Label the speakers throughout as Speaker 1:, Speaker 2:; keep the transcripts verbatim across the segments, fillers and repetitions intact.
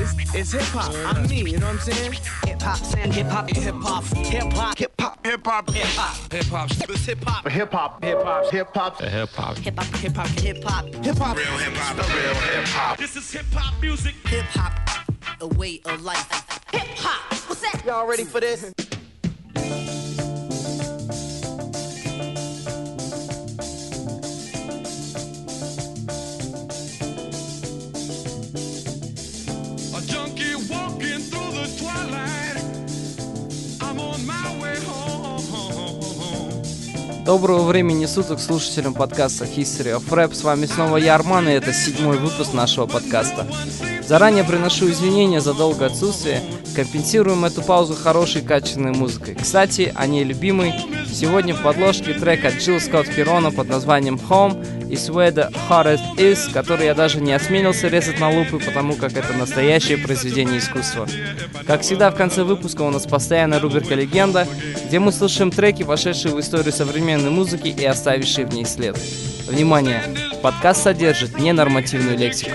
Speaker 1: is, is hip hop. I'm me, you know what I'm saying? Hip hop, saying hip hop, hip hop, hip hop, hip hop, hip hop, hip hop, hip hop, it's hip hop, hip hop, hip hop, hip hop, hip hop, hip hop, hip hop, hip hop, hip hop, real hip hop, the real hip hop. This is hip hop music. Hip hop, a way of life. Hip hop, what's that? Y'all ready for this?
Speaker 2: Доброго времени суток слушателям подкаста History of Rap. С вами снова я, Арман, и это седьмой выпуск нашего подкаста. Заранее приношу извинения за долгое отсутствие. Компенсируем эту паузу хорошей качественной музыкой. Кстати, о ней любимой. Сегодня в подложке трек от Джилл Скотт Херона под названием Home и Where the Heart Is, который я даже не осмелился резать на лупы, потому как это настоящее произведение искусства. Как всегда, в конце выпуска у нас постоянная рубрика «Легенда», где мы слушаем треки, вошедшие в историю современной музыки и оставившие в ней след. Внимание! Подкаст содержит ненормативную лексику.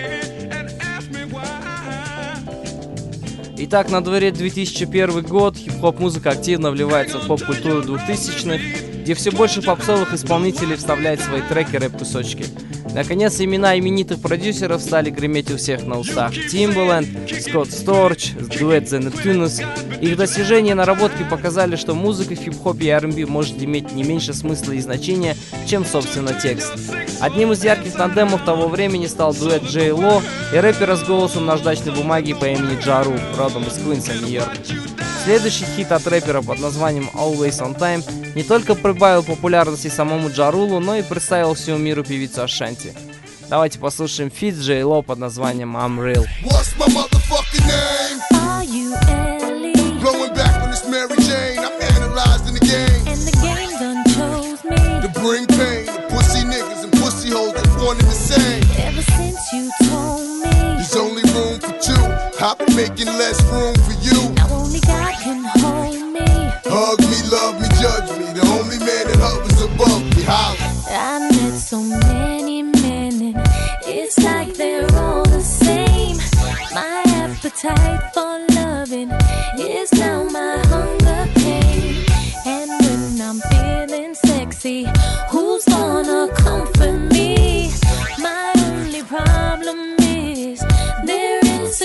Speaker 2: Итак, на дворе две тысячи первый год, хип-хоп-музыка активно вливается в поп-культуру двухтысячных, где все больше попсовых исполнителей вставляют в свои треки рэп-кусочки. Наконец, имена именитых продюсеров стали греметь у всех на устах. Timbaland, Scott Storch, дуэт The Neptunes. Их достижения и наработки показали, что музыка в хип-хопе и ар энд би может иметь не меньше смысла и значения, чем, собственно, текст. Одним из ярких тандемов того времени стал дуэт Джей Ло и рэпера с голосом наждачной бумаги по имени Ja Rule, родом из Квинса, Нью-Йорк. Следующий хит от рэпера под названием Always On Time не только прибавил популярности самому Ja Rule, но и представил всему миру певицу Ашанти. Давайте послушаем фит Джей Ло под названием I'm Real.
Speaker 3: What's my motherfucking name?
Speaker 4: Are you Ellie?
Speaker 3: Blowing back on this Mary Jane. I'm analyzing the game.
Speaker 4: And the game done chose me.
Speaker 3: To bring pain to pussy niggas and pussy hoes that wanted the same.
Speaker 4: Ever since you told me
Speaker 3: There's only room for two. I've been making less room for you.
Speaker 4: now only God can hold me.
Speaker 3: Hug me, love me, judge me. The only man that hovers above me. Holla.
Speaker 4: I met so many men and it's like they're all the same. My appetite for loving is now my hunger pain. And when I'm feeling sexy, who's gonna comfort me? My only problem is their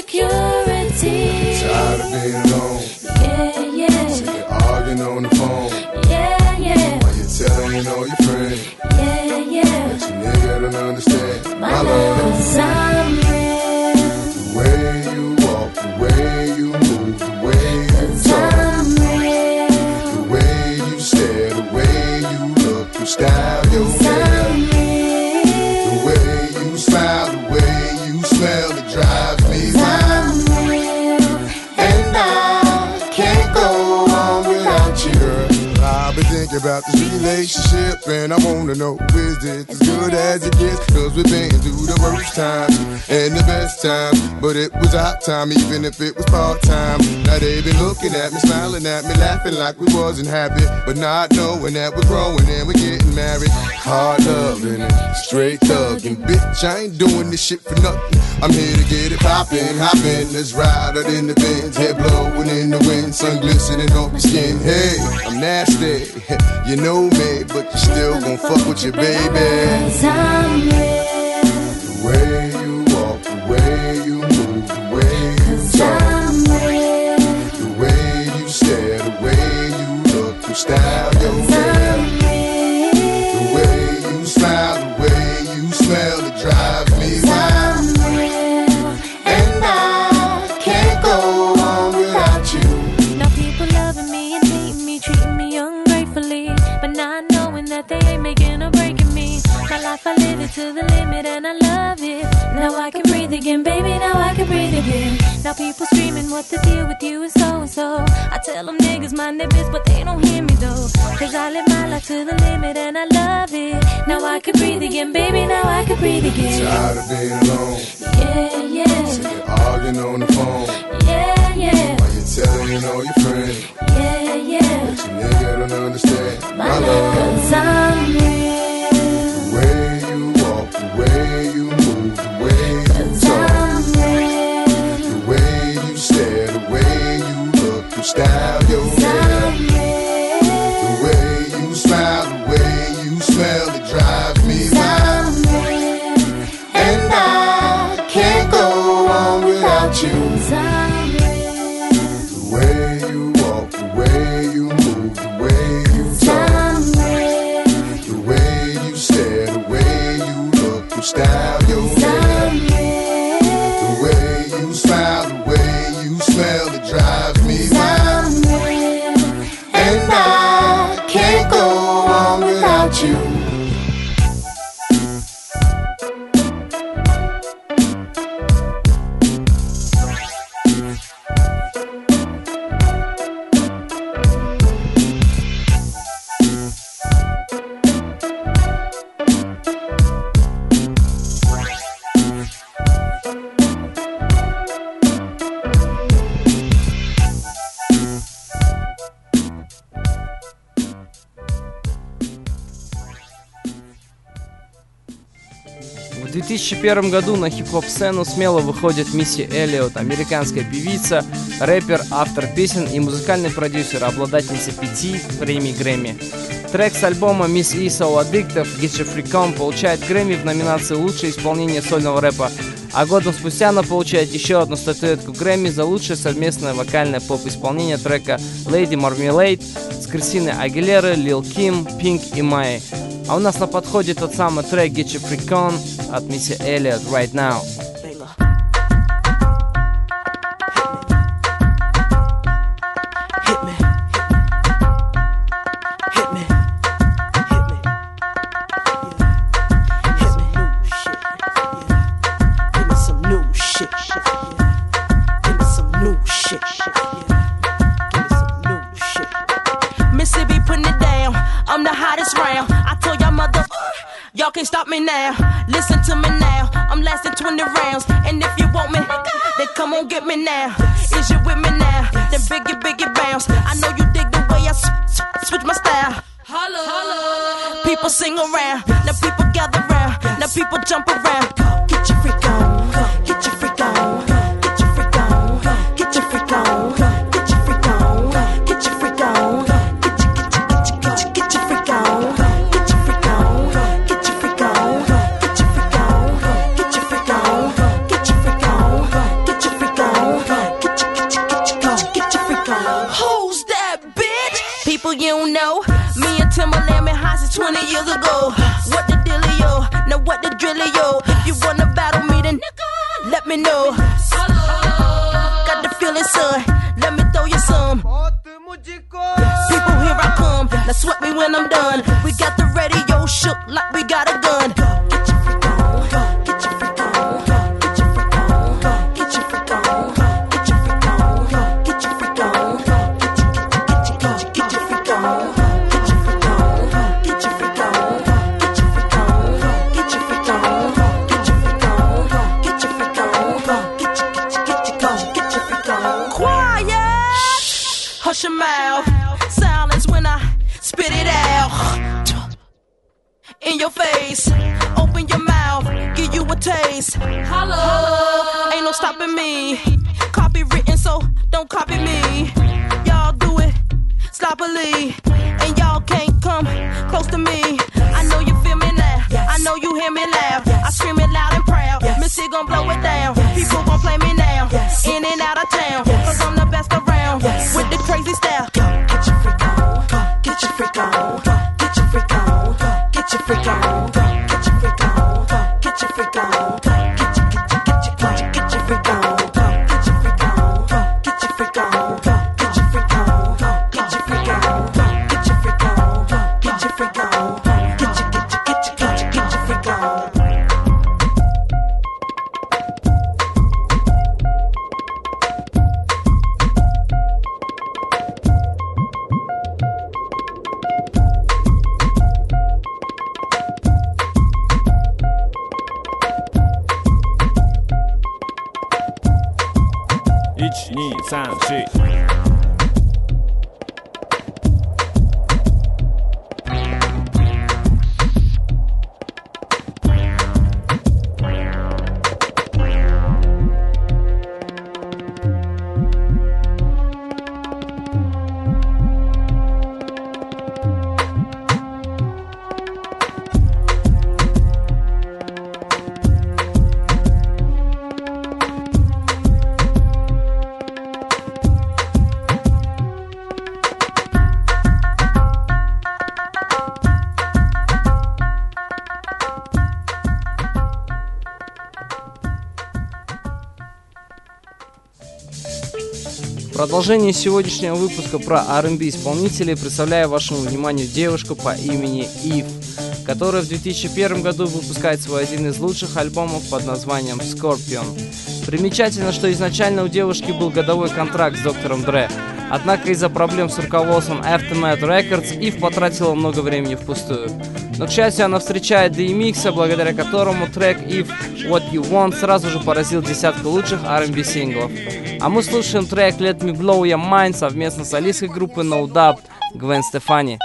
Speaker 4: insecurity.
Speaker 3: Tired of being alone.
Speaker 4: Yeah, yeah,
Speaker 3: Sick of arguing on the phone.
Speaker 4: yeah, yeah,
Speaker 3: While you're telling all your friends
Speaker 4: yeah, yeah.
Speaker 3: that your nigga don't understand
Speaker 4: My love, 'cause I'm real.
Speaker 3: The way you walk, the way you move, the way you talk,
Speaker 4: I'm real.
Speaker 3: the way you stare, the way you look, you style your hair,
Speaker 4: I'm real.
Speaker 3: the way you smile, the way you smell, it drives me wild.
Speaker 4: I'm real.
Speaker 3: And I can't go on without you, girl. I've been thinking about this relationship, and I wanna know, is it as good as it gets? Cause we've been through the worst times and the best times, but it was our time, even if it was part-time. Now they been looking at me, smiling at me, laughing like we wasn't happy, but not knowing that we're growing and we're getting married. Hard loving and straight thugging, bitch, I ain't doing this shit for nothing. I'm here to get it poppin', hoppin', let's ride out in the Benz, head blowing in the wind, sun glistening off your skin. Hey, I'm nasty, you know me, but you still gon' fuck with your baby.
Speaker 4: 'Cause I'm real.
Speaker 3: The way you walk, the way you move, the way you
Speaker 4: 'Cause
Speaker 3: talk,
Speaker 4: I'm real.
Speaker 3: the way you stare, the way you look, you style your hair,
Speaker 4: I'm real.
Speaker 3: the way you smile, the way you smell, it drives me wild.
Speaker 4: I'm real.
Speaker 3: And I can't go on without you.
Speaker 4: Now people loving me and hating me, treating me ungratefully, but not knowing that they ain't making or breaking me. My life, I live it to the limit and I love it. Now I can breathe again, baby, now I can breathe again. Now people screaming what the deal with you is so and so. I tell them niggas mind their biz, but they don't hear me though. Cause I live my life to the limit and I love it. Now I can breathe again, baby, now I can breathe again.
Speaker 3: Tired of being alone,
Speaker 4: Yeah, yeah,
Speaker 3: sick of arguing on the phone,
Speaker 4: yeah, yeah,
Speaker 3: while you're telling all your friends
Speaker 4: yeah, yeah.
Speaker 3: that your nigga don't understand
Speaker 4: My
Speaker 3: my
Speaker 4: love,
Speaker 3: love.
Speaker 4: 'cause I'm real.
Speaker 3: The way you walk, the way you move, the way you
Speaker 4: 'Cause
Speaker 3: talk,
Speaker 4: I'm real.
Speaker 3: the without you. Somewhere. The way you walk, the way you move, the way you talk. Somewhere. The way you stare, the way you look, your style, your hair. The way you smile, the way you smell, it drives me wild. And I can't go on without you.
Speaker 2: В две тысячи первом году на хип-хоп-сцену смело выходит Мисси Эллиот, американская певица, рэпер, автор песен и музыкальный продюсер, обладательница пяти премий Грэмми. Трек с альбома Miss E So Addictive Get Your Freak On получает Грэмми в номинации «Лучшее исполнение сольного рэпа», а годом спустя она получает еще одну статуэтку Грэмми за лучшее совместное вокальное поп-исполнение трека Lady Marmalade с Кристиной Агилерой, Лил Ким, Пинк и Майей. А у нас на подходе тот самый трек Get Your Freak On от Мисси Эллиот Right Now.
Speaker 1: Y'all can't stop me now, listen to me now. I'm lasting twenty rounds, and if you want me, then come on get me now. Is you with me now? Then biggie, biggie bounce. I know you dig the way I s- s- switch my style. Holla, holla. People sing around, now people gather round, now people jump around. Get your freak on, get your freak on, get your freak on, get your freak on, get your freak on, get your freak on, get your get your get your get your get your freak on. You don't know, me and Timberland been high since twenty years ago. What the dealio? Now what the drillio? If you wanna battle me, then let me know. Got the feeling, son. Let me throw you some. People, here I come. Now sweat me when I'm done. We got the radio shook like we got a gun. Get your freak on, get your freak on, get your freak on, get your freak on, get your freak on, get your freak on. Hush your mouth, silence when I spit it out. In your face, open your mouth, give you a taste. Hello, ain't no stopping me. Copy written, so don't copy me. Y'all do it sloppily, and y'all can't come close to me. I know you feel me now, I know you hear me loud. I scream it loud and proud, Missy gon' blow it down. People gon' play me now, in and out of town, cause I'm the best around, with the crazy style. Get your freak on, get your freak on, get your freak on, get your freak on, get your freak on, get your freak on, get your get your get your get your get your freak on, get your freak on, get your freak on, get your freak on, get your freak on, get your freak on, get your freak on, get your get your get your get your get your freak on.
Speaker 5: one, two, three, four.
Speaker 2: Продолжение сегодняшнего выпуска про ар энд би исполнителей представляю вашему вниманию девушку по имени Eve, которая в две тысячи первом году выпускает свой один из лучших альбомов под названием Scorpion. Примечательно, что изначально у девушки был годовой контракт с доктором Dre, однако из-за проблем с руководством Aftermath Records Eve потратила много времени впустую. Но, к счастью, она встречает ди эм икс, благодаря которому трек Eve What You Want сразу же поразил десятку лучших ар энд би синглов. А мы слушаем трек Let Me Blow Your Mind совместно с солисткой группы No Doubt Гвен Стефани.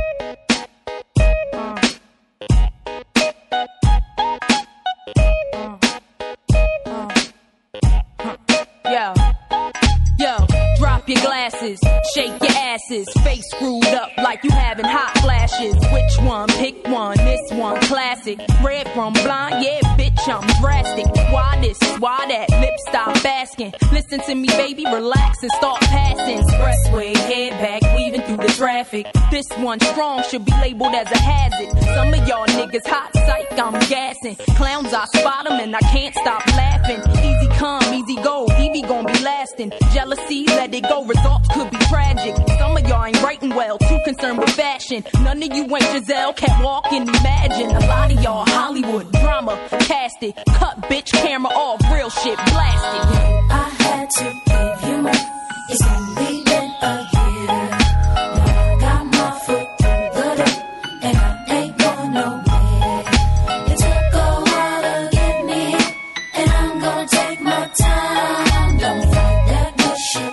Speaker 6: Your glasses, shake your asses, face screwed up like you having hot flashes. Which one? Pick one. This one classic. Red from blind, yeah, bitch, I'm drastic. Why this? Why that? Lip stop asking. Listen to me, baby, relax and start passing. Expressway, head back, weaving through the traffic. This one strong should be labeled as a hazard. Some of y'all niggas hot psych, I'm gassing. Clowns, I spot them and I can't stop laughing. Easy come, easy go, Evie gon' be lasting. Jealousy, let it go. Results could be tragic. Some of y'all ain't writing well, too concerned with fashion. None of you ain't Giselle, can't walk and imagine. A lot of y'all Hollywood drama, cast it, cut bitch camera off, real shit blasted.
Speaker 4: I had to give you more. It's only been a year. Now I got my foot through the door, and I ain't going nowhere. It took a while to get me, and I'm gonna take my time. Don't fight that bullshit.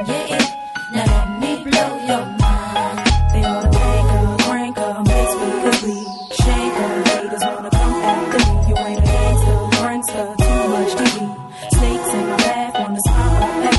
Speaker 4: Now let me blow your mind. They wanna make her, crank her, mix with the weed. Shake her, haters wanna come after me. You ain't a gangster, prankster, too much T V. Snakes in my bath, wanna smile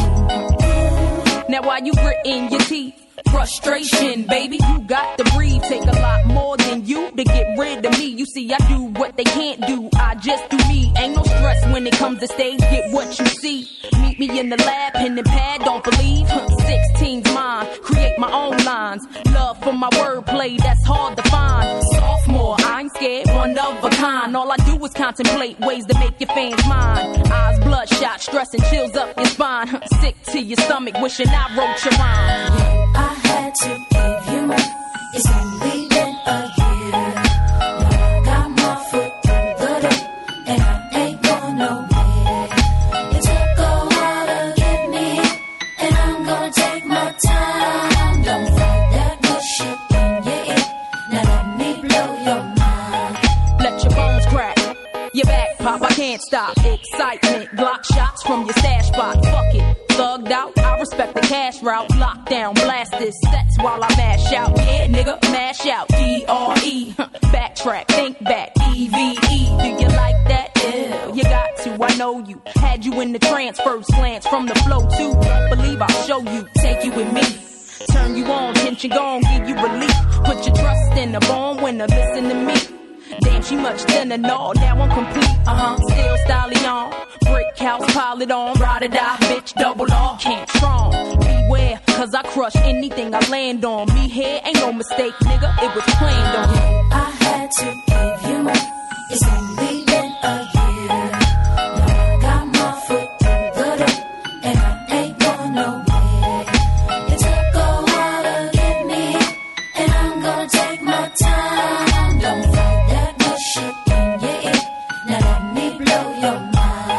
Speaker 4: at me.
Speaker 6: Now while you gritting your teeth, frustration, baby, you got to breathe. Take a lot more than you to get rid of me. You see, I do what they can't do, I just do me. Ain't no stress when it comes to stage, get what you see. Meet me in the lab, pen and pad, don't believe. sixteen's mine, create my own lines. Love for my wordplay, that's hard to find. Sophomore, I ain't scared, one of a kind. All I do is contemplate ways to make your fans mine. Eyes bloodshot, stress and chills up your spine. Sick to your stomach, wishing I wrote your rhyme.
Speaker 4: I had to give you more. It's only been a year. Now I got my foot through the door, and I ain't going nowhere. It took a while to get me, and I'm gonna take my time. Don't fight that bullshit in your ear. Now let me blow your mind.
Speaker 6: Let your bones crack, your back pop, I can't stop. Excitement, Glock shots from your stash spot. Fuck it, thugged out, I respect the cash route. Lockdown, blast this sets while I mash out. Yeah, nigga, mash out. D R E, backtrack, think back. E V E, do you like that? Yeah, you got to, I know you. Had you in the trance, first glance from the flow too. Believe I'll show you, take you with me. Turn you on, tension gone, give you relief. Put your trust in the born winner, listen to me. Damn, she much thinner, no, now I'm complete, uh-huh, still styling on. Brick house, pile it on, ride or die, bitch, double R, can't strong. Beware, cause I crush anything I land on. Me here ain't no mistake, nigga, it was planned on.
Speaker 4: I had to give you more. It's only been a year. Now I got my foot through the door, and I ain't going nowhere. It took a while to get me, and I'm gonna take my time. Don't fight that bullshit in your ear. Now let me blow your mind.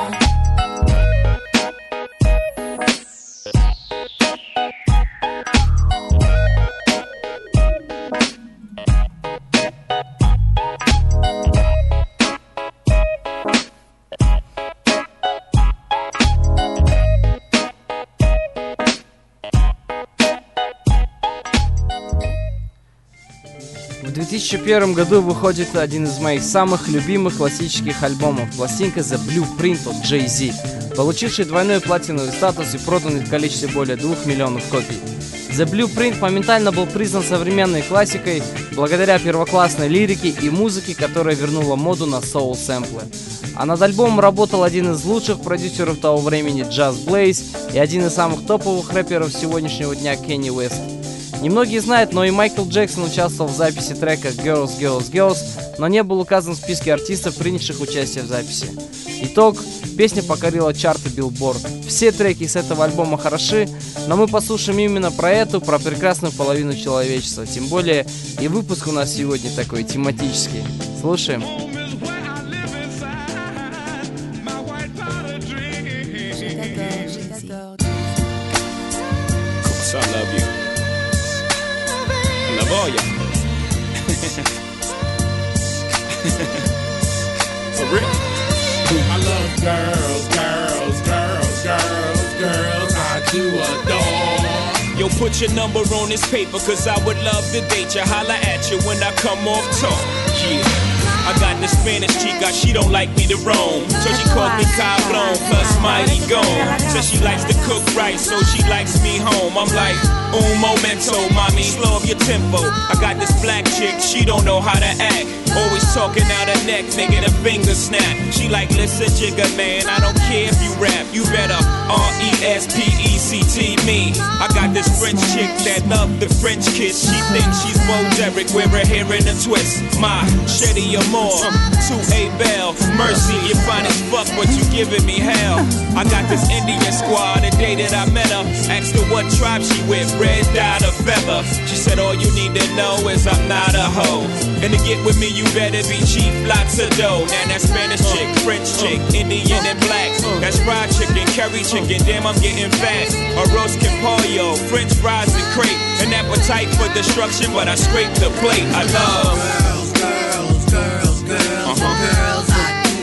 Speaker 2: В две тысячи первом году выходит один из моих самых любимых классических альбомов, пластинка The Blueprint от Jay-Z, получивший двойной платиновый статус и проданный в количестве более двух миллионов копий. The Blueprint моментально был признан современной классикой благодаря первоклассной лирике и музыке, которая вернула моду на соул-сэмплы. А над альбомом работал один из лучших продюсеров того времени Just Blaze и один из самых топовых рэперов сегодняшнего дня Кенни Уэст. Немногие знают, но и Майкл Джексон участвовал в записи трека Girls, Girls, Girls, но не был указан в списке артистов, принявших участие в записи. Итог. Песня покорила чарты Billboard. Все треки с этого альбома хороши, но мы послушаем именно про эту, про прекрасную половину человечества. Тем более и выпуск у нас сегодня такой тематический. Слушаем.
Speaker 5: I love you. Love all ya. For real.
Speaker 7: I love girls, girls, girls, girls, girls. I do adore.
Speaker 5: Yo, put your number on this paper, cause I would love to date you. Holla at you when I come off talk. Yeah. I got the Spanish chica, she don't like me to roam. So she calls me Cablon, plus Mighty Gone. Says she likes to cook right, so she likes me home. I'm like, un momento, mommy, slow up your tempo. I got this black chick, she don't know how to act. Always talking out her neck, making a finger snap. She like, listen, jigger man, I don't care if you rap. You better R E S P E C T me. I got this French chick that love the French kiss. She thinks she's Bo Derek, wear her hair in a twist. My Shetty Amore, to A Bell. Mercy, you're fine as fuck, but you giving me hell. I got this Indian squad, the day that I met her. Asked her what tribe she with, red dye or feather. She said all you need to know is I'm not a hoe. And to get with me, you better be cheap, lots of dough. Now that Spanish chick, French chick, Indian and black. That's fried chicken, curry chicken, damn I'm getting fat. Arroz con pollo, French fries and crepe. An appetite for destruction, but I scrape the plate. I love
Speaker 7: girls, girls, girls, girls, uh-huh. girls I do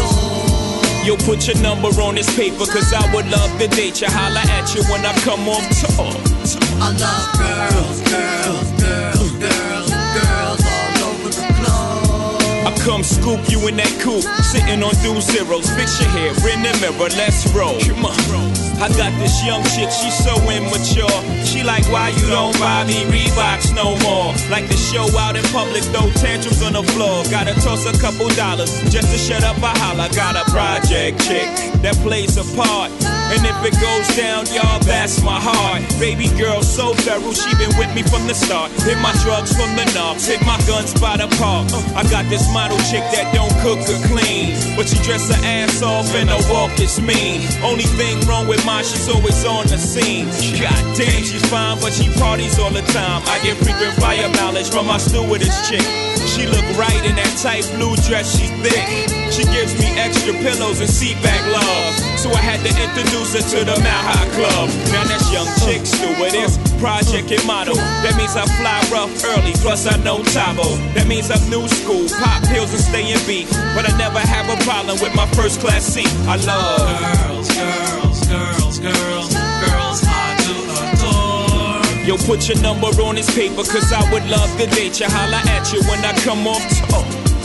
Speaker 7: adore.
Speaker 5: Yo, put your number on this paper, cause I would love to date you. Holla at you when I come off tour.
Speaker 7: I love girls, girls, girls, girls, girls all over the globe.
Speaker 5: I come scoop you in that coupe, sitting on two zeros. Fix your hair in the mirror, let's roll. Come on. I got this young chick, she's so immature. She like, why you don't buy me Reeboks no more? Like to show out in public, throw tantrums on the floor. Gotta toss a couple dollars just to shut up a holler. Got a project chick that plays a part. And if it goes down, y'all, that's my heart. Baby girl, so thorough, she been with me from the start. Hit my drugs from the knobs, hit my guns by the park. I got this model chick that don't cook or clean, but she dress her ass off and her walk is mean. Only thing wrong with mine, she's always on the scene. God damn, she's fine, but she parties all the time. I get frequent fire mileage from my stewardess chick. She look right in that tight blue dress, she's thick. She gives me extra pillows and seat back love. So I had to introduce her to the Mile High Club. Now that's young chick stewardess, project and model. That means I fly rough early, plus I know Tabo. That means I'm new school, pop pills and stay in beat. But I never have a problem with my first class seat. I love
Speaker 7: girls, girls, girls, girls, girls I do adore.
Speaker 5: Yo, put your number on this paper, cause I would love to date you. Holla at you when I come off tour.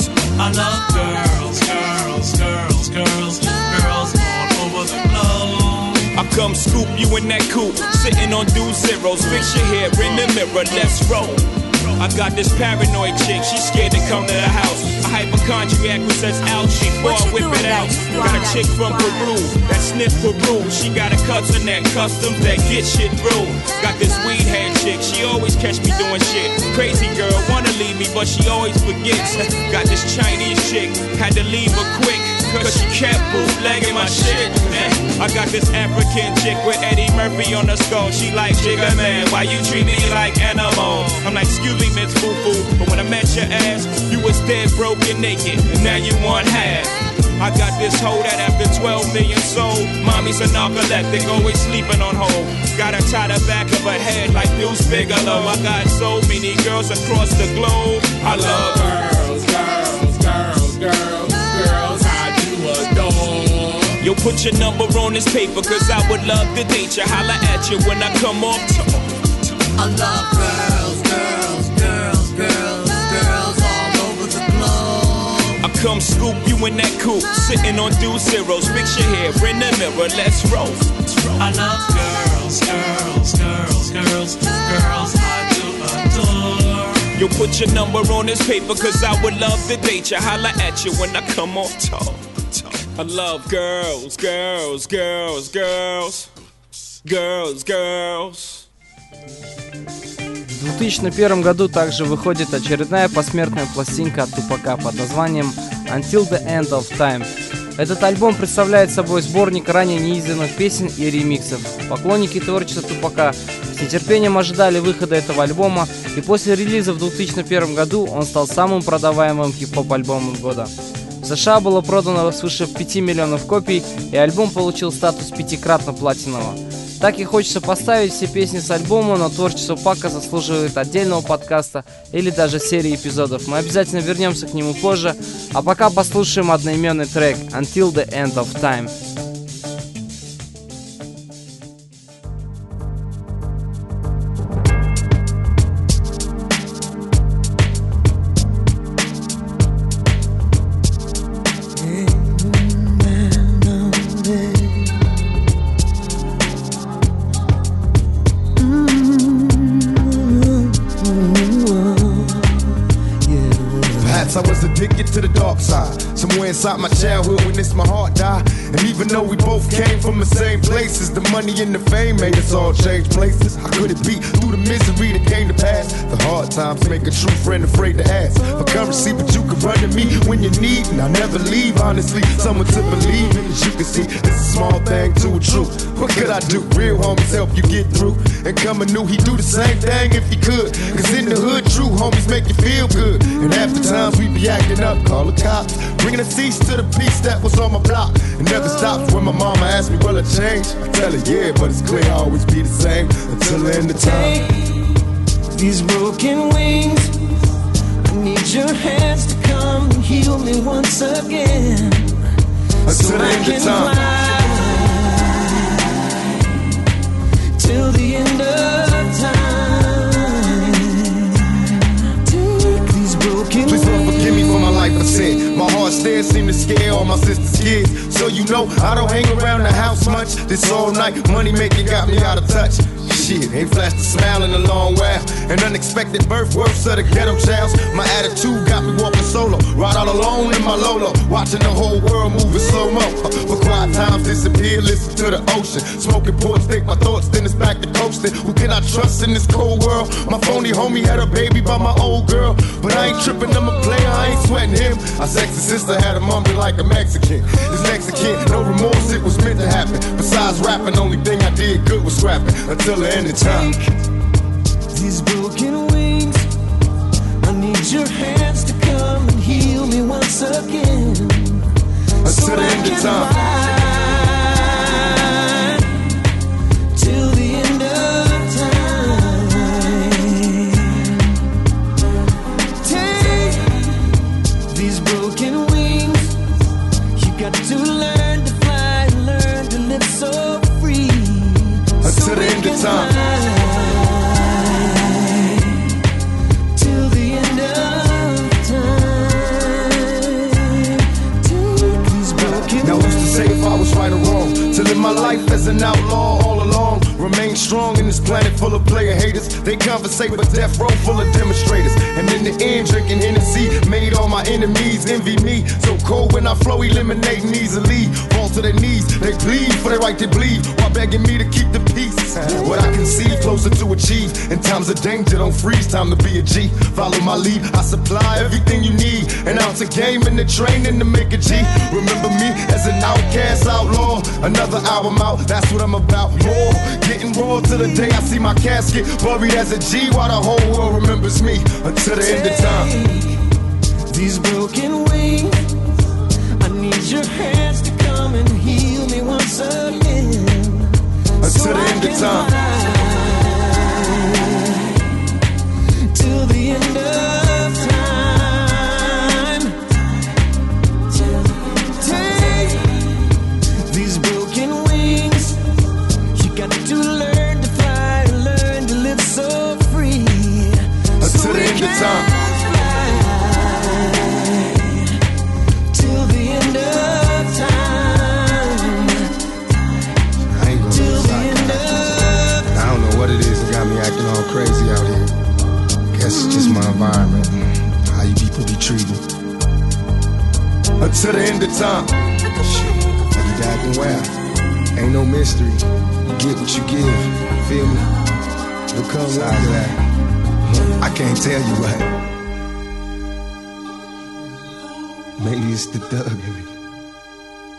Speaker 7: I love girls, girls, girls, girls, girls all over the globe.
Speaker 5: I come scoop you in that coupe, sitting on two zeros. Fix your hair in the mirror, let's roll. I got this paranoid chick, she's scared to come to the house. A hypochondriac who says ouch, she before I whip it out. Got a chick from Peru that sniff Peru. She got a cousin that customs that get shit through. Got this weed head chick, she always catch me doing shit. Crazy girl, wanna leave me, but she always forgets. Got this Chinese chick, had to leave her quick, cause she kept bootlegging my shit. I got this African chick with Eddie Murphy on the skull. She like, Jigga man, why you treat me like animal? I'm like, excuse me, Miss Foo Foo, but when I met your ass, you was dead, broken, naked, and now you want half. I got this hoe that after twelve million sold, mommy's a narcoleptic, always sleeping on hold. Got her tied the back of her head like Deuce Bigelow. I got so many girls across the globe. I love
Speaker 7: girls, girls, girls, girls, girls I do adore.
Speaker 5: Yo, put your number on this paper, cause I would love to date you. Holla at you when I come off tour.
Speaker 7: I love girls, girls, girls, girls, girls all over the globe.
Speaker 5: I come scoop you in that coupe, sitting on two zeros. Fix your hair in the mirror, let's roll.
Speaker 7: I love girls, girls, girls, girls, girls I do adore.
Speaker 5: Yo, put your number on this paper, cause I would love to date you. Holla at you when I come off tour. I love girls, girls, girls, girls, girls, girls.
Speaker 2: В две тысячи первом году также выходит очередная посмертная пластинка от Тупака под названием Until the End of Time. Этот альбом представляет собой сборник ранее неизданных песен и ремиксов. Поклонники творчества Тупака с нетерпением ожидали выхода этого альбома, и после релиза в две тысячи первом году он стал самым продаваемым хип-хоп альбомом года. В США было продано свыше пяти миллионов копий, и альбом получил статус пятикратно платинового. Так и хочется поставить все песни с альбома, но творчество Пака заслуживает отдельного подкаста или даже серии эпизодов. Мы обязательно вернемся к нему позже, а пока послушаем одноименный трек «Until the End of Time».
Speaker 3: I was addicted to the dark side. Somewhere inside my childhood witnessed my heart die. And even though we both came from the same places, the money and the fame made us all change places. How could it be through the misery that came to pass? The hard times make a true friend afraid to ask for currency, but you can run to me when you need, and I never leave. Honestly, someone to believe in. As you can see, it's a small thing to a truth. What could I do? Real homies help you get through. And coming new, he do the same thing if he could. Cause in the hood, true homies make you feel good. And half the times we be acting up, call the cops, bringing a cease to the peace that was on my block. It never stops when my mama asks me, will I change? I tell her, yeah, but it's clear I'll always be the same until the end of time.
Speaker 1: Take these broken wings, I need your hands to come and heal me once again.
Speaker 3: Until
Speaker 1: so
Speaker 3: the end of time.
Speaker 1: Till the end of time. Take these broken
Speaker 3: Please Lord,
Speaker 1: wings.
Speaker 3: forgive me for my life I sin. My heart still seem to scare all my sister's kids. So you know I don't hang around the house much. This all night money making got me out of touch. Shit, ain't flashed a smile in a long while. An unexpected birth, worse of the ghetto childs. My attitude got me walking solo, ride all alone in my Lolo, watching the whole world move in slow-mo. But quiet times disappear, listen to the ocean. Smoking ports, think my thoughts, then it's back to coasting. Who can I trust in this cold world? My phony homie had a baby by my old girl, but I ain't tripping, I'm a player, I ain't sweating him. Our sexy sister had a mummy like a Mexican. This Mexican, no remorse, it was meant to happen. Besides rapping, only thing I did good was scrapping. Until the end of time.
Speaker 1: These broken wings, I need your hands to come and heal me once again.
Speaker 3: Until so the end of time.
Speaker 1: Fly till the end of time. Take these broken wings, you got to learn to fly, learn to live so free.
Speaker 3: Until the end of time.
Speaker 1: Till the end of time. Take these broken
Speaker 3: Now who's to say if I was right or wrong? To live my life as an outlaw all along. Remain strong in this planet full of player haters. They conversate but death row full of demonstrators. And in the end drinking Hennessy made all my enemies envy me. So cold when I flow, eliminating easily. Fall to their knees, they plead for their right to bleed, while begging me to keep the peace. What I can see closer to achieve. In times of danger, don't freeze, time to be a G. Follow my lead, I supply everything you need. An ounce of game in the training to make a G. Remember me as an outcast outlaw. Another album out, that's what I'm about. More, getting raw till the day I see my casket buried as a G, while the whole world remembers me until the end of time.
Speaker 1: These broken wings, I need your hands to come and heal me once again.
Speaker 3: Until
Speaker 1: so
Speaker 3: the end of time.
Speaker 1: Till the end of time. Take these broken wings, you got to learn to fly, learn to live so free.
Speaker 3: Until
Speaker 1: so
Speaker 3: the end of time.
Speaker 1: Till the end of time.
Speaker 3: I ain't gonna
Speaker 1: Till the
Speaker 3: lie,
Speaker 1: end of
Speaker 3: I don't know what it is that got me acting all crazy out here. Guess it's just my environment, how you people be treated. Until the end of time. Shit, I be acting well. Ain't no mystery. You get what you give. Feel me? It'll come like that. I can't tell you what. Maybe it's the thug in me.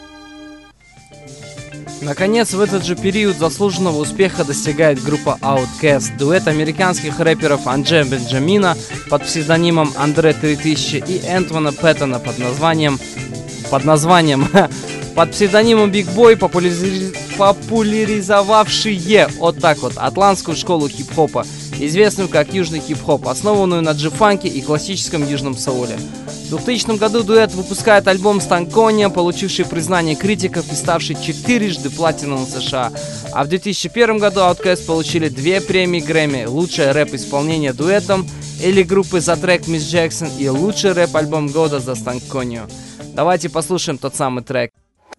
Speaker 2: Наконец, в этот же период заслуженного успеха достигает группа Outkast, дуэт американских рэперов Андре Бенджамина под псевдонимом Андре три тысячи и Энтона Пэттона под названием под названием под псевдонимом Big Boy, популяриз... популяризовавшие вот так вот атлантскую школу хип-хопа, известную как южный хип-хоп, основанную на джи-фанке и классическом южном соуле. В двухтысячном году дуэт выпускает альбом «Станкония», получивший признание критиков и ставший четырежды платиновым в США. А в две тысячи первом году Outkast получили две премии Грэмми: лучшее рэп-исполнение дуэтом или группы за трек Miss Jackson и лучший рэп-альбом года за «Станконию». Давайте послушаем тот самый трек.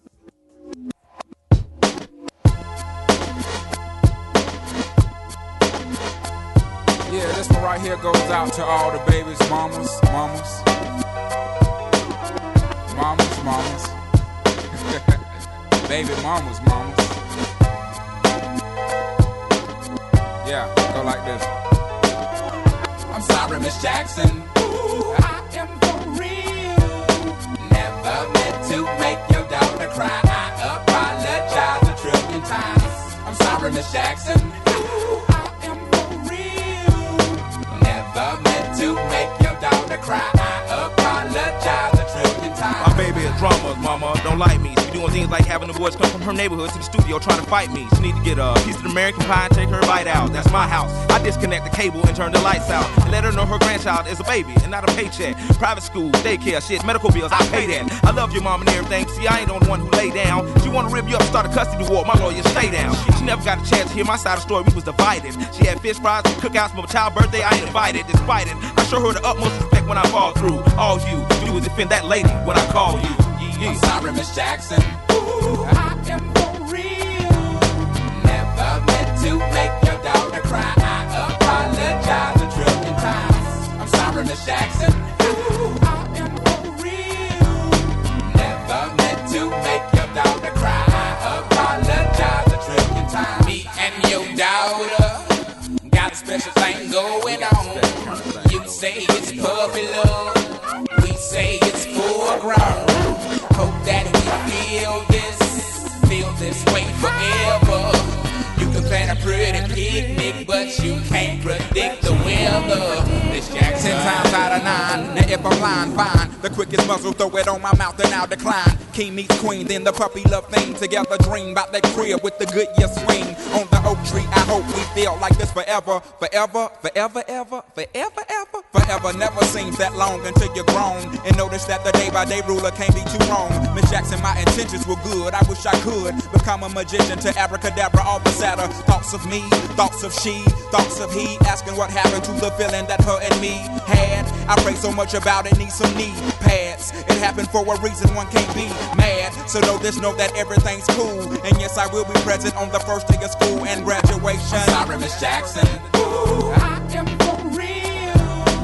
Speaker 8: Yeah, this one right here goes out to all the babies, mamas, mamas, mamas, mamas, baby mamas, mamas. Yeah, go like this. I'm sorry, Miss Jackson. Ooh, I am for real. Never meant to make your daughter cry. I apologize a trillion times. I'm sorry, Miss Jackson. Ooh, I am for real. Never meant to make your daughter cry. I apologize a trillion times.
Speaker 9: My baby is drama, mama, don't like me. She doing things like having the boys come from her neighborhood to the studio trying to fight me. She need to get a piece of the American pie and take her bite out. That's my house. I disconnect the cable and turn the lights out and let her know her grandchild is a baby and not a paycheck. Private school, daycare, shit, medical bills, I pay that. I love your mom and everything. See, I ain't the only one who lay down. She wanna rip you up and start a custody war. My lawyer, stay down. She never got a chance to hear my side of the story. We was divided. She had fish fries, cookouts for my child's birthday. I ain't invited. Despite it, I show her the utmost respect when I fall through. All you do is defend that lady when I call you.
Speaker 8: I'm sorry, Miss Jackson. Ooh, I am for real. Never meant to make your daughter cry. I apologize a trillion times. I'm sorry, Miss Jackson. Ooh, I am for real. Never meant to make your daughter cry. I apologize a trillion times. Me and your daughter got a special thing going on. You say it's puppy love. We say it's full grown. Hope that we feel this, feel this way forever. You can plan a pretty picnic, but you can't predict the weather. This Jackson times out of nine. Now if I'm lying, fine. The quickest muzzle, throw it on my mouth and I'll decline. King meets queen, then the puppy love thing. Together dream about that crib with the good year swing. On the oak tree, I hope we feel like this forever. Forever, forever, ever, forever, ever. Forever never seems that long until you're grown. And notice that the day by day ruler can't be too wrong. Miss Jackson, my intentions were good. I wish I could become a magician to abracadabra all the sadder. Thoughts of me, thoughts of she, thoughts of he. Asking what happened to the feeling that her and me had. I pray so much about it, need some knee pads. It happened for a reason, one can't be mad. So know this, know that everything's cool. And yes, I will be present on the first day of school and graduation. I'm sorry, Miss Jackson. Ooh, I am for real.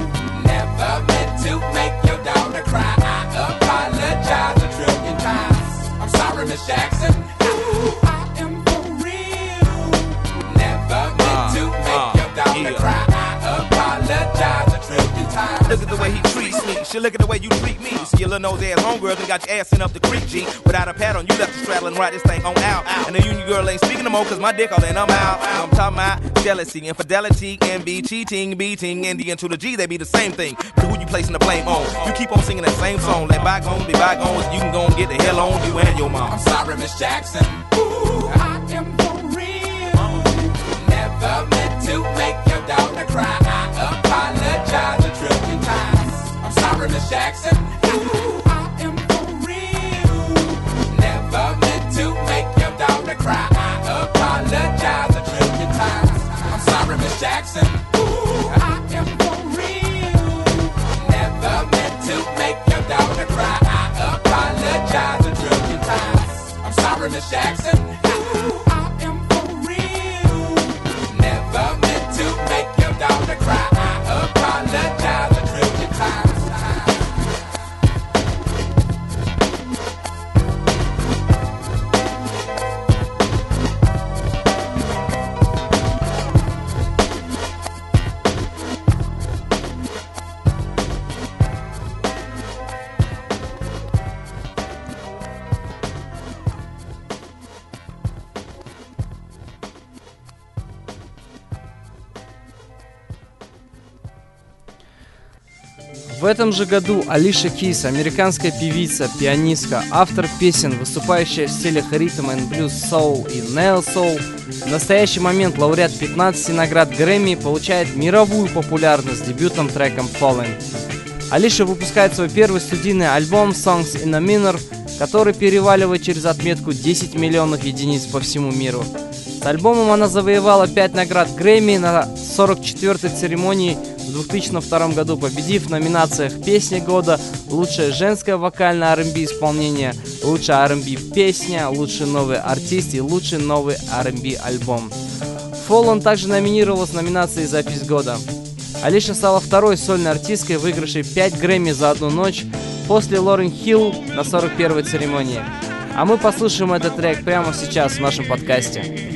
Speaker 8: Never meant to make your daughter cry. I apologize a trillion times. I'm sorry, Miss Jackson. Ooh, I am for real. Never meant to make your daughter cry. I apologize a trillion times.
Speaker 9: Look at the way he treats me. Shit, look at the way you treat me. See your little nose ass homegirl and got your ass sent up the creek, G. Without a pad on, you left the straddle and ride this thing on out. And the union girl ain't speaking no more, cause my dick all in, I'm out. I'm talking about jealousy, infidelity, envy, cheating, beating, and the N to the G, they be the same thing. But who you placing the blame on? You keep on singing that same song. Let bygones be bygones, you can go and get the hell on you and your mom.
Speaker 8: I'm sorry, Miss Jackson. Ooh, I am for real. Never meant to make your daughter cry. I apologize a trillion times. I'm sorry, Miss Jackson. Ooh, I am for real. Never meant to make your daughter cry. I apologize a trillion times. I'm sorry, Miss Jackson. Ooh, I am for real. Never meant to make your daughter cry. I apologize a trillion times. I'm sorry, Miss Jackson. Ooh, I am for real. Never meant to make your daughter cry. I apologize a trillion times.
Speaker 2: В этом же году Алиша Кис, американская певица, пианистка, автор песен, выступающая в стилях ритм and блюз, соул и нео-соул, в настоящий момент лауреат пятнадцати наград Грэмми, получает мировую популярность с дебютным треком Fallen. Алиша выпускает свой первый студийный альбом Songs in a Minor, который переваливает через отметку десять миллионов единиц по всему миру. С альбомом она завоевала пять наград Грэмми на сорок четвёртой церемонии в две тысячи втором году, победив в номинациях «Песня года», «Лучшее женское вокальное ар энд би исполнение», «Лучшая ар энд би песня», «Лучший новый артист» и «Лучший новый ар энд би альбом». Fallen также номинировалась в номинации «Запись года». Алиша стала второй сольной артисткой, выигравшей пять Грэмми за одну ночь после Лорен Хилл на сорок первой церемонии. А мы послушаем этот трек прямо сейчас в нашем подкасте.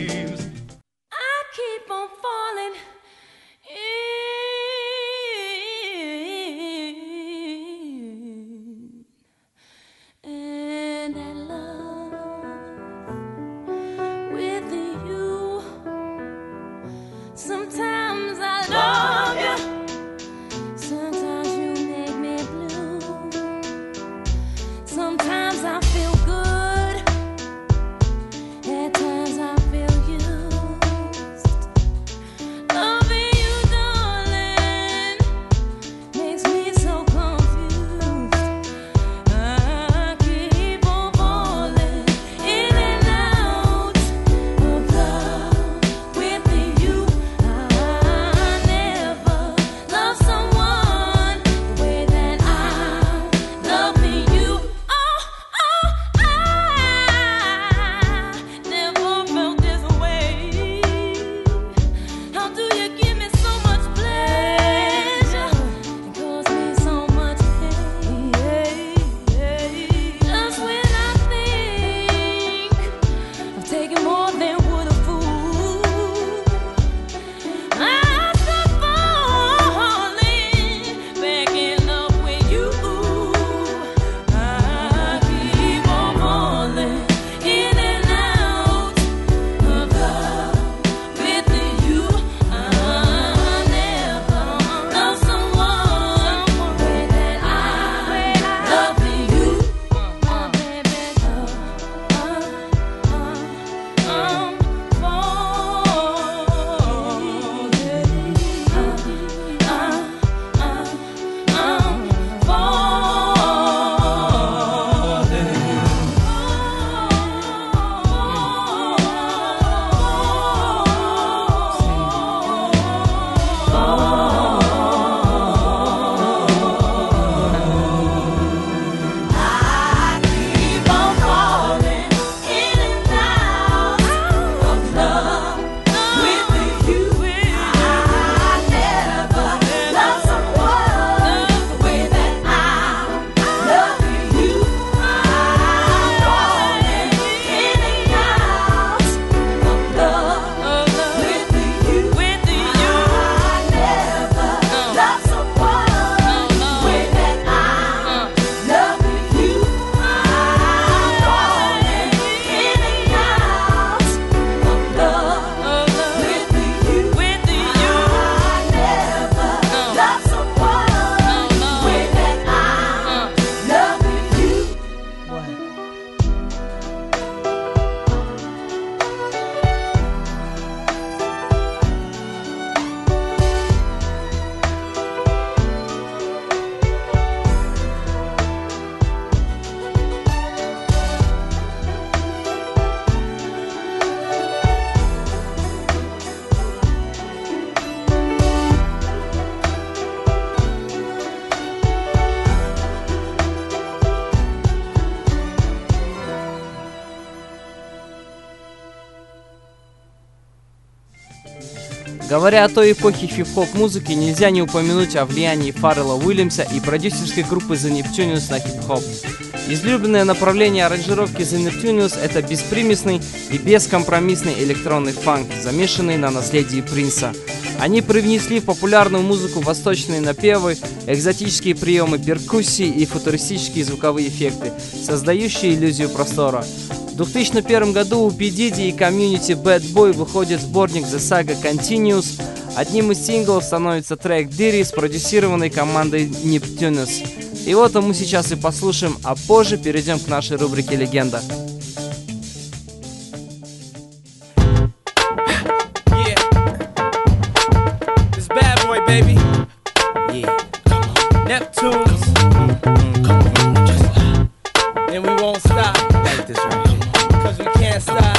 Speaker 2: Говоря о той эпохе хип-хоп музыки, нельзя не упомянуть о влиянии Фаррелла Уильямса и продюсерской группы The Neptunes на хип-хоп. Излюбленное направление аранжировки The Neptunes — это беспримесный и бескомпромиссный электронный фанк, замешанный на наследии Принса. Они привнесли в популярную музыку восточные напевы, экзотические приемы перкуссии и футуристические звуковые эффекты, создающие иллюзию простора. В две тысячи первом году у P. Diddy и комьюнити Bad Boy выходит сборник The Saga Continues, Одним из синглов становится трек «Дири», спродюсированный командой Neptunus. И вот мы сейчас и послушаем, а позже перейдем к нашей рубрике «Легенда».
Speaker 5: Baby, yeah, come on, Neptunes, come on, just and we won't stop like this right here, cause we can't stop,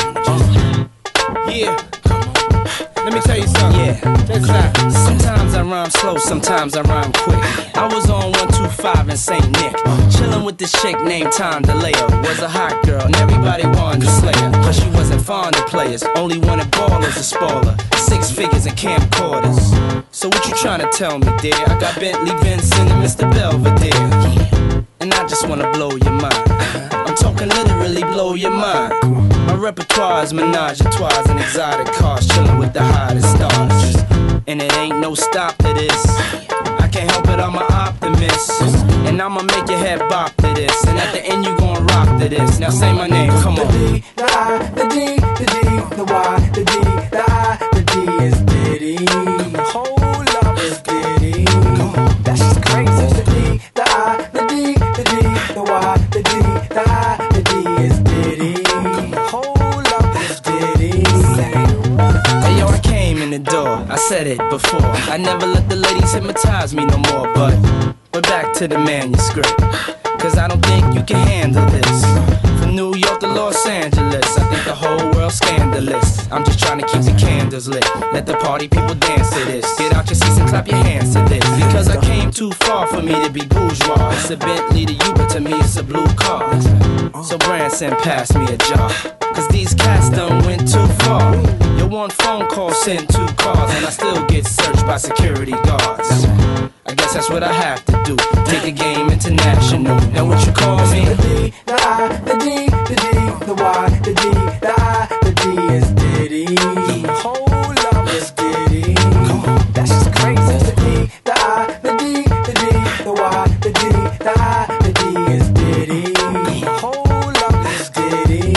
Speaker 5: yeah, come on, let me tell you something, yeah, check this out. Sometimes I rhyme slow, sometimes I rhyme quick. I was on one two five in Saint Nick, chillin' with this chick named Tom DeLeo. Was a hot girl, and everybody wanted to slay her, but she wasn't fond of players, only wanted ballers to spoil her. Six figures and camcorders. So what you tryna tell me, dear? I got Bentley Benson and Mister Belvedere, and I just wanna blow your mind. I'm talking literally blow your mind. My repertoire is menage a trois and exotic cars, chillin' with the hottest stars. And it ain't no stop to this. I can't help it, I'm an optimist, and I'ma make your head bop to this. And at the end you gon' rock to this. Now say my name, come on.
Speaker 10: The D, the I, the D, the D, the Y, the D, the I, the D is Diddy. Hold up, it's Diddy. That's just crazy. The D, the I, the D, the D, the Y, the D, the I, the D is Diddy. Hold up, it's Diddy.
Speaker 5: Hey yo, I came in the door, I said it before. I never let the ladies hypnotize me no more, but we're back to the manuscript, cause I don't think you can handle this. From New York to Los Angeles, I think the whole world's scandalous. I'm just trying to keep the candles lit, let the party people dance to this. Get out your seats and clap your hands to this, because I came too far for me to be bourgeois. It's a Bentley to you, but to me it's a blue car. So Branson passed me a jar, cause these cats done went too far. Your one phone call sent two cars, and I still get searched by security guards. I guess that's what I have to do, take the game international. Now what you call me?
Speaker 10: The D, the I, the D, the D, the Y, the D, the I, the D is Diddy. Hold up, it's Diddy. That's just crazy. The D, the I, the D, the D, the Y, the D, the I, the D is Diddy. Hold up, it's Diddy.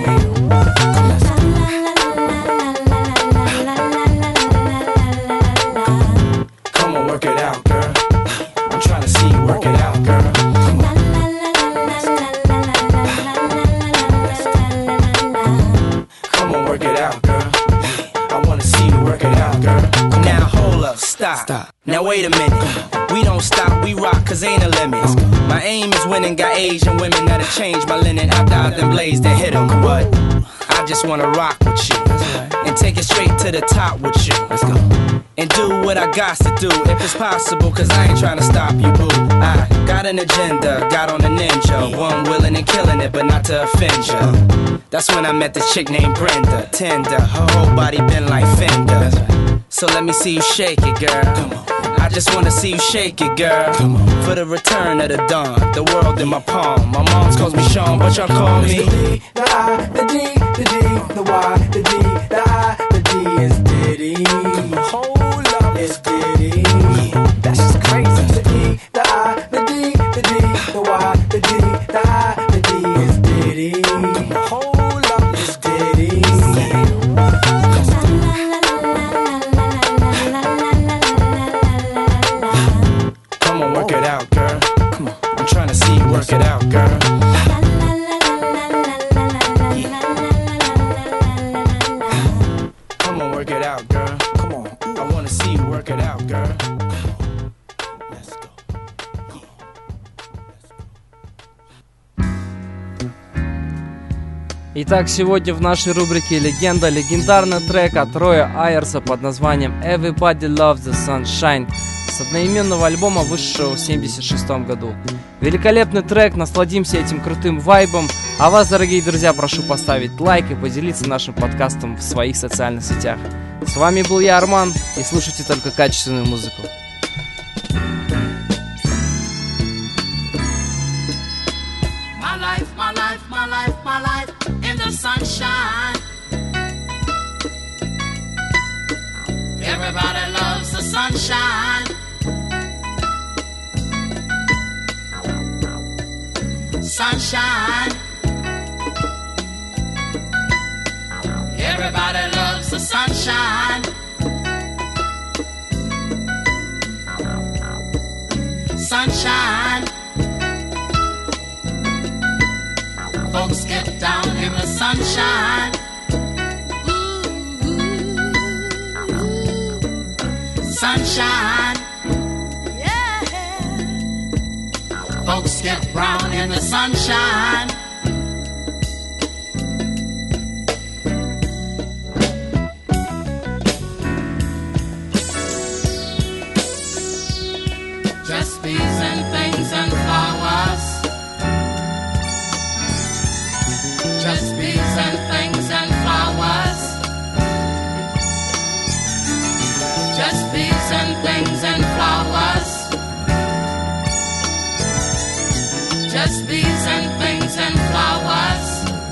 Speaker 5: Come on, work it out, girl. I'm trying to see you work it out, girl. Come on. Come on, work it out, girl. I wanna see you work it out, girl. Now hold up, stop. stop. Now wait a minute. We don't stop, we rock, cause ain't a limit. My aim is winning, got Asian women that'll change my linen after I done blazed and hit 'em. But I just wanna rock with you and take it straight to the top with you. Let's go. And do what I got to do, if it's possible, cause I ain't trying to stop you, boo. I got an agenda, got on a ninja, one willing and killing it, but not to offend ya. That's when I met this chick named Brenda, tender, her whole body been like Fender. So let me see you shake it, girl. Come on. I just wanna see you shake it, girl. Come on. For the return of the dawn, the world in my palm. My mom's calls me Sean, but y'all call me
Speaker 10: The D, the I, the D, the D, the Y, the D, the I, the D is Diddy. Hold up, it's Diddy. That's just crazy. The D, the I, the D, the D, the Y, the D, the I, the D is Diddy. Hold up, it's Diddy.
Speaker 5: Come on, work it out, girl. Come on, I'm trying to see you work it out, girl. Come on, work it out, girl. Come on, I wanna see you work it out, girl. Let's go.
Speaker 2: Итак, сегодня в нашей рубрике «Легенда» легендарный трек от Роя Айерса под названием «Everybody Loves the Sunshine» с одноименного альбома, вышедшего в семьдесят шестом году. Великолепный трек, насладимся этим крутым вайбом. А вас, дорогие друзья, прошу поставить лайк и поделиться нашим подкастом в своих социальных сетях. С вами был я, Арман, и слушайте только качественную музыку.
Speaker 11: My life, my life, my life, my life in the sunshine. Everybody loves the sunshine. Sunshine. Everybody loves the sunshine. sunshine. Folks get down in the sunshine. Sunshine. Yeah. Folks get brown in the sunshine. Just bees and things and flowers. Just bees and things and flowers. Just bees and things and flowers. Just bees and things and flowers.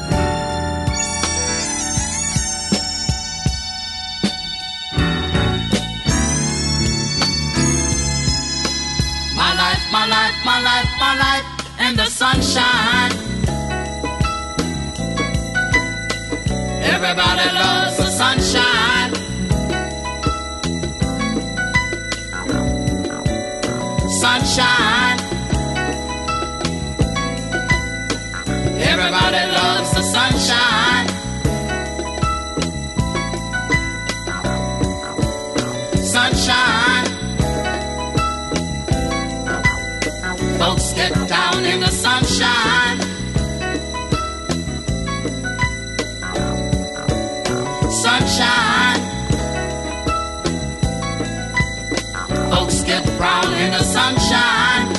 Speaker 11: My life, my life, my life, my life in the sunshine. Everybody loves the sunshine. Sunshine. Everybody loves the sunshine. Sunshine. Folks get down in the sunshine. Sunshine. Folks get brown in the sunshine.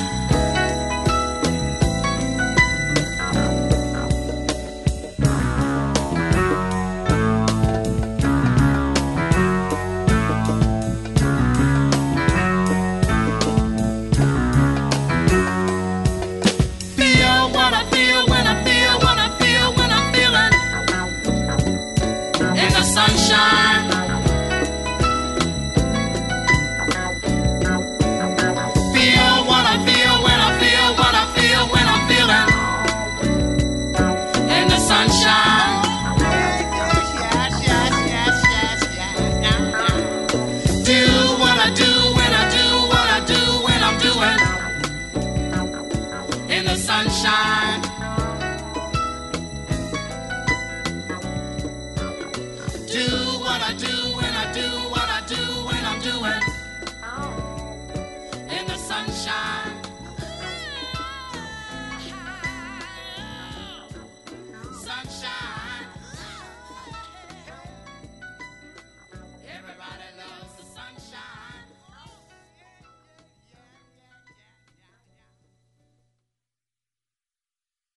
Speaker 11: Feel what I feel when I feel what I feel when I'm feeling in the sunshine.